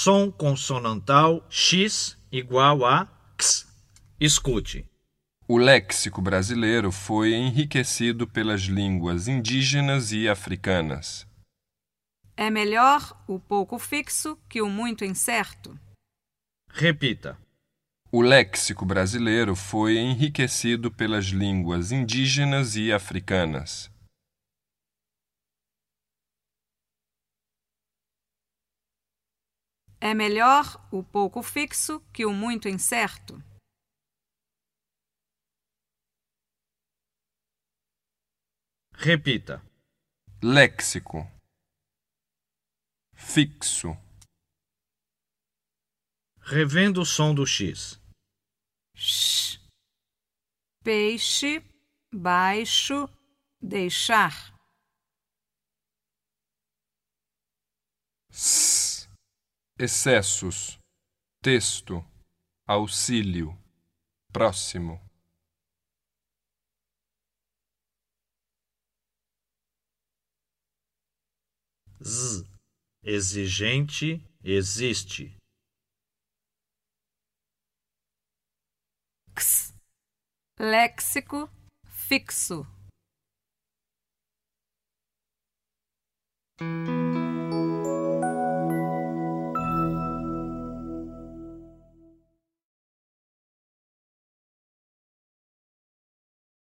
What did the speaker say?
som consonantal X igual a X. Escute. O léxico brasileiro foi enriquecido pelas línguas indígenas e africanas. É melhor o pouco fixo que o muito incerto. Repita. O léxico brasileiro foi enriquecido pelas línguas indígenas e africanas. É melhor o pouco fixo que o muito incerto. Repita. Léxico. Fixo. Revendo o som do X. Sh. Peixe, baixo, deixar. S. Excessos. Texto. Auxílio. Próximo. Z. Exigente, existe. X. Léxico, fixo.